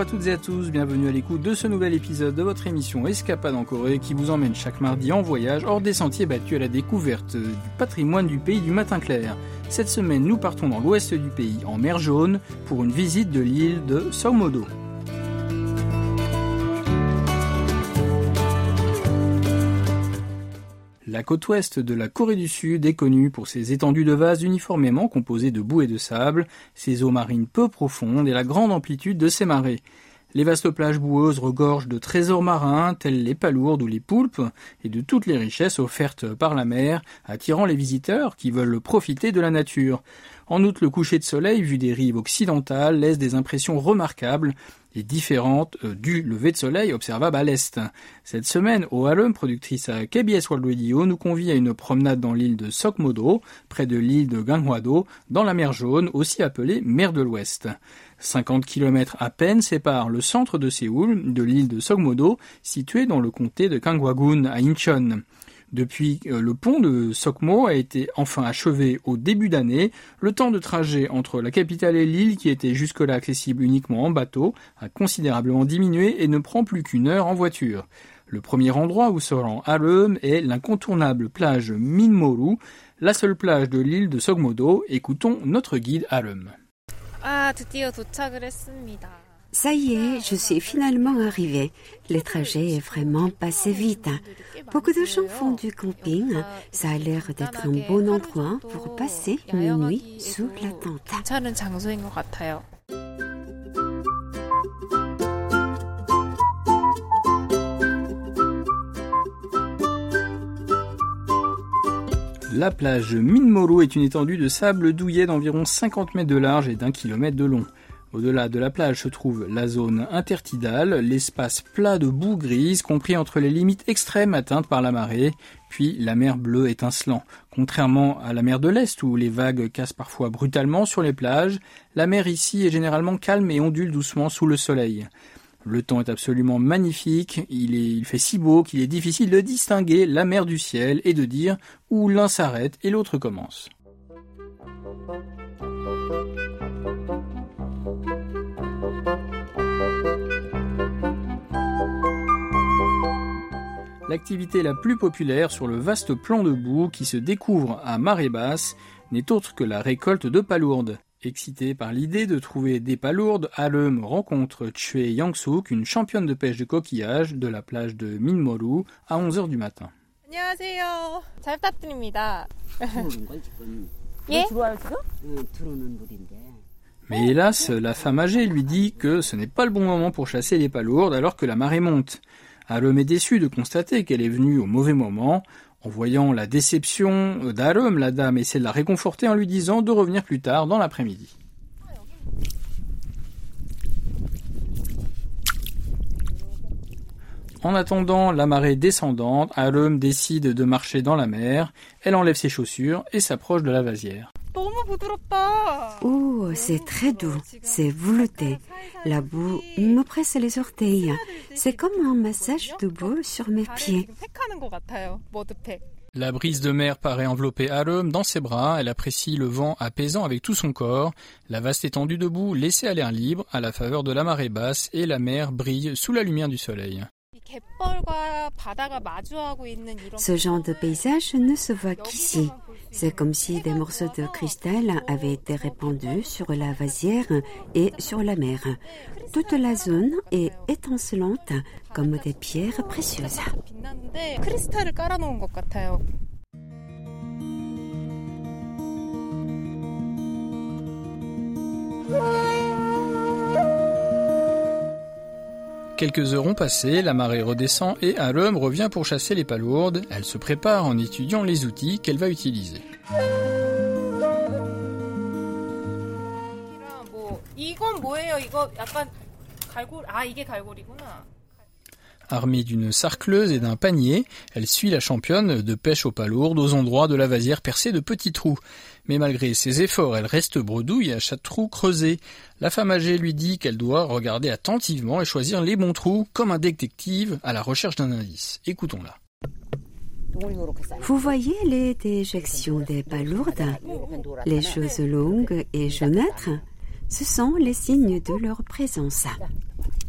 toutes et à tous, bienvenue à l'écoute de ce nouvel épisode de votre émission Escapade en Corée qui vous emmène chaque mardi en voyage hors des sentiers battus à la découverte du patrimoine du pays du matin clair. Cette semaine, nous partons dans l'ouest du pays, en mer Jaune, pour une visite de l'île de Seogmo-do. La côte ouest de la Corée du Sud est connue pour ses étendues de vases uniformément composées de boue et de sable, ses eaux marines peu profondes et la grande amplitude de ses marées. Les vastes plages boueuses regorgent de trésors marins tels les palourdes ou les poulpes et de toutes les richesses offertes par la mer, attirant les visiteurs qui veulent profiter de la nature. En outre, le coucher de soleil vu des rives occidentales laisse des impressions remarquables et différentes du lever de soleil observable à l'est. Cette semaine, ORM, productrice à KBS World Radio, nous convie à une promenade dans l'île de Seogmo-do, près de l'île de Ganghwa-do, dans la mer Jaune, aussi appelée mer de l'Ouest. 50 km à peine séparent le centre de Séoul de l'île de Seogmo-do, située dans le comté de Gangwon à Incheon. Depuis le pont de Seogmo a été enfin achevé au début d'année, le temps de trajet entre la capitale et l'île, qui était jusque-là accessible uniquement en bateau, a considérablement diminué et ne prend plus qu'une heure en voiture. Le premier endroit où se rend ORM est l'incontournable plage Minmoru, la seule plage de l'île de Seogmo-do. Écoutons notre guide ORM. Ça y est, je suis finalement arrivée. Le trajet est vraiment passé vite. Beaucoup de gens font du camping. Ça a l'air d'être un bon endroit pour passer une nuit sous la tente. La plage Minmoru est une étendue de sable douillet d'environ 50 mètres de large et d'1 kilomètre de long. Au-delà de la plage se trouve la zone intertidale, l'espace plat de boue grise compris entre les limites extrêmes atteintes par la marée, puis la mer bleue étincelant. Contrairement à la mer de l'Est où les vagues cassent parfois brutalement sur les plages, la mer ici est généralement calme et ondule doucement sous le soleil. Le temps est absolument magnifique, il fait si beau qu'il est difficile de distinguer la mer du ciel et de dire où l'un s'arrête et l'autre commence. L'activité la plus populaire sur le vaste plan de boue qui se découvre à marée basse n'est autre que la récolte de palourdes. Excité par l'idée de trouver des palourdes, ORM rencontre Choi Young-suk, une championne de pêche de coquillages de la plage de Minmoru à 11h du matin. 안녕하세요. 잘 부탁드립니다. Mais hélas, la femme âgée lui dit que ce n'est pas le bon moment pour chasser les palourdes alors que la marée monte. ORM est déçue de constater qu'elle est venue au mauvais moment. En voyant la déception d'ORM, la dame essaie de la réconforter en lui disant de revenir plus tard dans l'après-midi. En attendant la marée descendante, ORM décide de marcher dans la mer. Elle enlève ses chaussures et s'approche de la vasière. Oh, c'est très doux, c'est velouté. La boue me presse les orteils. C'est comme un massage de boue sur mes pieds. La brise de mer paraît envelopper ORM dans ses bras. Elle apprécie le vent apaisant avec tout son corps. La vaste étendue de boue laissée à l'air libre à la faveur de la marée basse et la mer brille sous la lumière du soleil. Ce genre de paysage ne se voit qu'ici. C'est comme si des morceaux de cristal avaient été répandus sur la vasière et sur la mer. Toute la zone est étincelante comme des pierres précieuses. Quelques heures ont passé, la marée redescend et ORM revient pour chasser les palourdes. Elle se prépare en étudiant les outils qu'elle va utiliser. Armée d'une sarcleuse et d'un panier, elle suit la championne de pêche aux palourdes aux endroits de la vasière percés de petits trous. Mais malgré ses efforts, elle reste bredouille à chaque trou creusé. La femme âgée lui dit qu'elle doit regarder attentivement et choisir les bons trous, comme un détective à la recherche d'un indice. Écoutons-la. Vous voyez les déjections des palourdes, les choses longues et jaunâtres? Ce sont les signes de leur présence.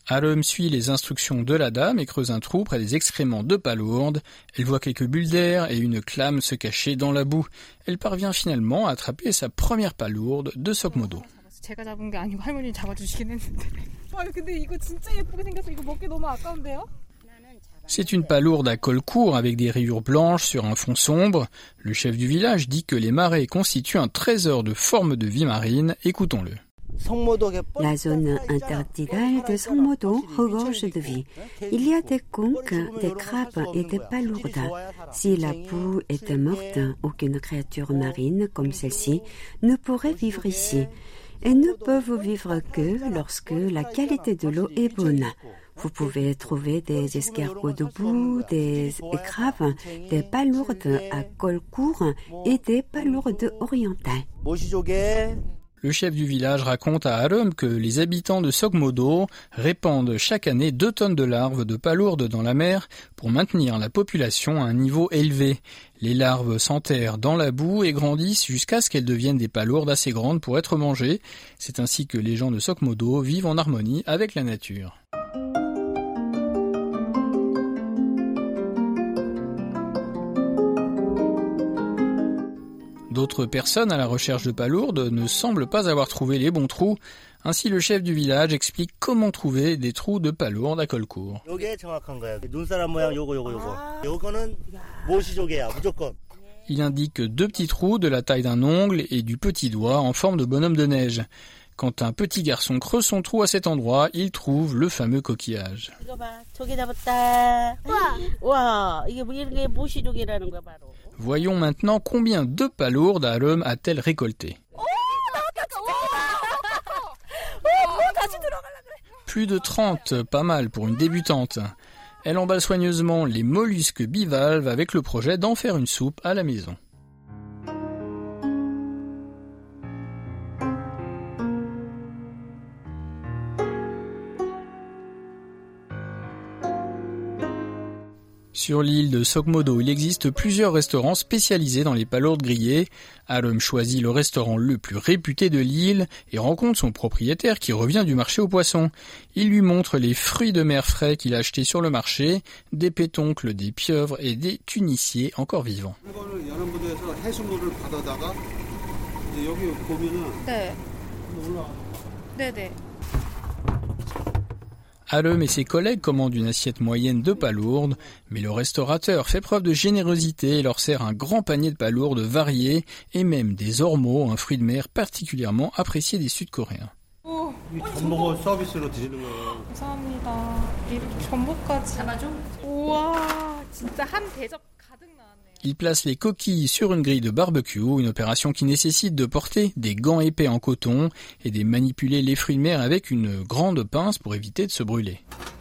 Arem suit les instructions de la dame et creuse un trou près des excréments de palourdes. Elle voit quelques bulles d'air et une clame se cacher dans la boue. Elle parvient finalement à attraper sa première palourde de Sokmodo. 제가 잡은 게 아니고 할머니 잡아주시긴 했는데. 근데 이거 진짜 예쁘게 생겼어. 이거 먹기 너무 아까운데요? C'est une palourde à col court avec des rayures blanches sur un fond sombre. Le chef du village dit que les marais constituent un trésor de formes de vie marine. Écoutons-le. La zone intertidale de Sokmodo regorge de vie. Il y a des conques, des crabes et des palourdes. Si la boue était morte, aucune créature marine comme celle-ci ne pourrait vivre ici. Elles ne peuvent vivre que lorsque la qualité de l'eau est bonne. Vous pouvez trouver des escargots de boue, des crabes, des palourdes à col court et des palourdes orientales. Le chef du village raconte à Arem que les habitants de Sokmodo répandent chaque année 2 tonnes de larves de palourdes dans la mer pour maintenir la population à un niveau élevé. Les larves s'enterrent dans la boue et grandissent jusqu'à ce qu'elles deviennent des palourdes assez grandes pour être mangées. C'est ainsi que les gens de Sokmodo vivent en harmonie avec la nature. D'autres personnes à la recherche de palourdes ne semblent pas avoir trouvé les bons trous. Ainsi, le chef du village explique comment trouver des trous de palourdes à col court. Il indique 2 petits trous de la taille d'un ongle et du petit doigt en forme de bonhomme de neige. Quand un petit garçon creuse son trou à cet endroit, il trouve le fameux coquillage. Voyons maintenant combien de palourdes Arem a-t-elle récolté. Plus de 30, pas mal pour une débutante. Elle emballe soigneusement les mollusques bivalves avec le projet d'en faire une soupe à la maison. Sur l'île de Sokmodo, il existe plusieurs restaurants spécialisés dans les palourdes grillées. Arem choisit le restaurant le plus réputé de l'île et rencontre son propriétaire qui revient du marché aux poissons. Il lui montre les fruits de mer frais qu'il a achetés sur le marché, des pétoncles, des pieuvres et des cunissiers encore vivants. Arem et ses collègues commandent une assiette moyenne de palourdes, mais le restaurateur fait preuve de générosité et leur sert un grand panier de palourdes variées et même des ormeaux, un fruit de mer particulièrement apprécié des Sud-Coréens. Il place les coquilles sur une grille de barbecue, une opération qui nécessite de porter des gants épais en coton et de manipuler les fruits de mer avec une grande pince pour éviter de se brûler.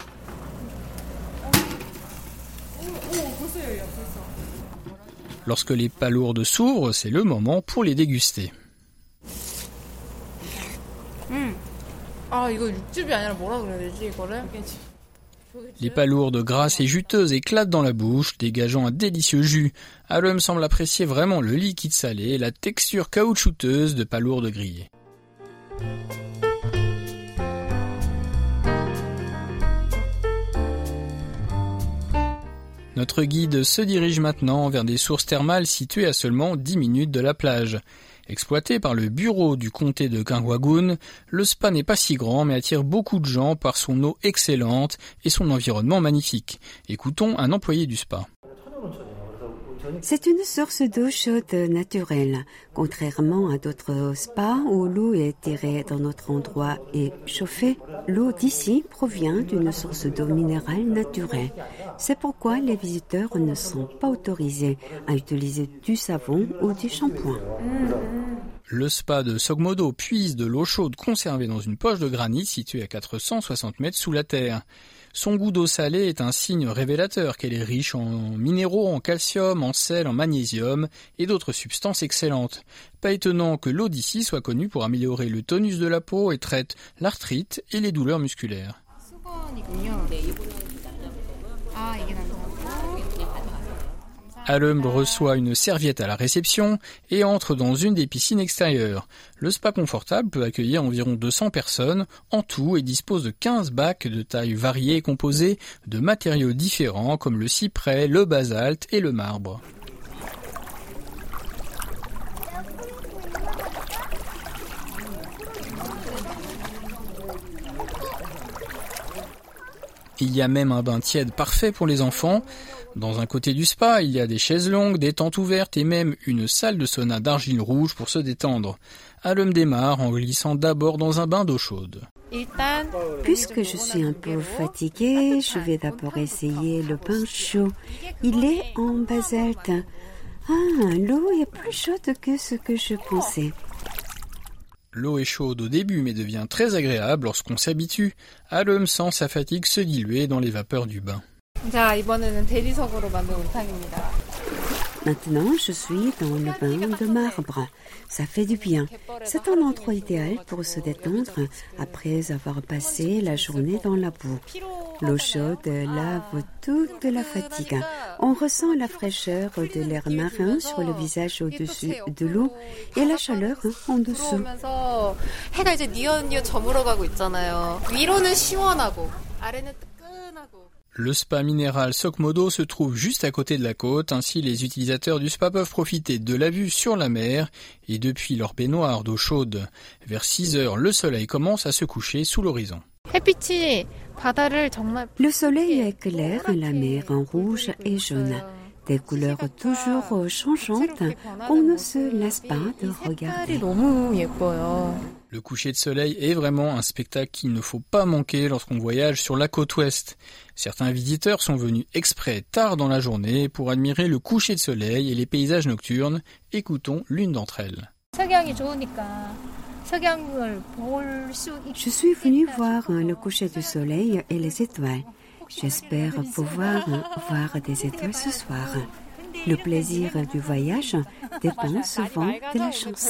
Lorsque les palourdes s'ouvrent, c'est le moment pour les déguster. Les palourdes grasses et juteuses éclatent dans la bouche, dégageant un délicieux jus. Arem semble apprécier vraiment le liquide salé et la texture caoutchouteuse de palourdes grillées. Notre guide se dirige maintenant vers des sources thermales situées à seulement 10 minutes de la plage. Exploité par le bureau du comté de Gangwagun, le spa n'est pas si grand mais attire beaucoup de gens par son eau excellente et son environnement magnifique. Écoutons un employé du spa. C'est une source d'eau chaude naturelle. Contrairement à d'autres spas où l'eau est tirée d'un autre endroit et chauffée, l'eau d'ici provient d'une source d'eau minérale naturelle. C'est pourquoi les visiteurs ne sont pas autorisés à utiliser du savon ou du shampoing. Le spa de Sokmodo puise de l'eau chaude conservée dans une poche de granit située à 460 mètres sous la terre. Son goût d'eau salée est un signe révélateur qu'elle est riche en minéraux, en calcium, en sel, en magnésium et d'autres substances excellentes. Pas étonnant que l'eau d'ici soit connue pour améliorer le tonus de la peau et traite l'arthrite et les douleurs musculaires. Alum reçoit une serviette à la réception et entre dans une des piscines extérieures. Le spa confortable peut accueillir environ 200 personnes en tout et dispose de 15 bacs de tailles variées composés de matériaux différents comme le cyprès, le basalte et le marbre. Il y a même un bain tiède parfait pour les enfants. Dans un côté du spa, il y a des chaises longues, des tentes ouvertes et même une salle de sauna d'argile rouge pour se détendre. Alum démarre en glissant d'abord dans un bain d'eau chaude. Puisque je suis un peu fatiguée, je vais d'abord essayer le bain chaud. Il est en basalte. L'eau est plus chaude que ce que je pensais. L'eau est chaude au début mais devient très agréable lorsqu'on s'habitue. Alum sent sa fatigue se diluer dans les vapeurs du bain. Maintenant, je suis dans le bain de marbre. Ça fait du bien. C'est un endroit idéal pour se détendre après avoir passé la journée dans la boue. L'eau chaude lave toute la fatigue. On ressent la fraîcheur de l'air marin sur le visage au-dessus de l'eau et la chaleur en dessous. Le spa minéral Sokmodo se trouve juste à côté de la côte, ainsi les utilisateurs du spa peuvent profiter de la vue sur la mer et depuis leur baignoire d'eau chaude. Vers 6 heures, le soleil commence à se coucher sous l'horizon. Le soleil éclaire la mer en rouge et jaune, des couleurs toujours changeantes qu'on ne se lasse pas de regarder. Le coucher de soleil est vraiment un spectacle qu'il ne faut pas manquer lorsqu'on voyage sur la côte ouest. Certains visiteurs sont venus exprès tard dans la journée pour admirer le coucher de soleil et les paysages nocturnes. Écoutons l'une d'entre elles. Je suis venue voir le coucher du soleil et les étoiles. J'espère pouvoir voir des étoiles ce soir. Le plaisir du voyage dépend souvent de la chance.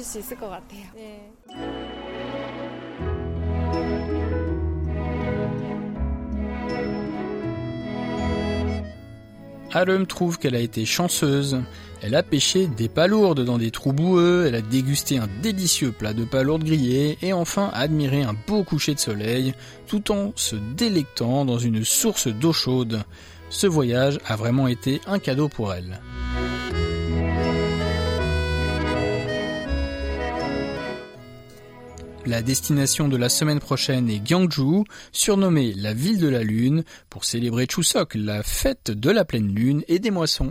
Alum trouve qu'elle a été chanceuse. Elle a pêché des palourdes dans des trous boueux, elle a dégusté un délicieux plat de palourdes grillées et enfin admiré un beau coucher de soleil tout en se délectant dans une source d'eau chaude. Ce voyage a vraiment été un cadeau pour elle. La destination de la semaine prochaine est Gyeongju, surnommée la ville de la lune, pour célébrer Chuseok, la fête de la pleine lune et des moissons.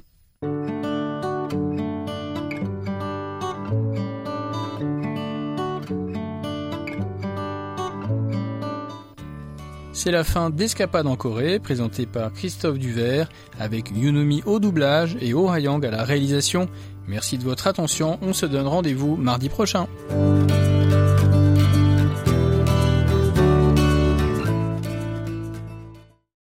C'est la fin d'Escapade en Corée, présentée par Christophe Duvert, avec Yoonumi au doublage et Oh Ha-young à la réalisation. Merci de votre attention, on se donne rendez-vous mardi prochain.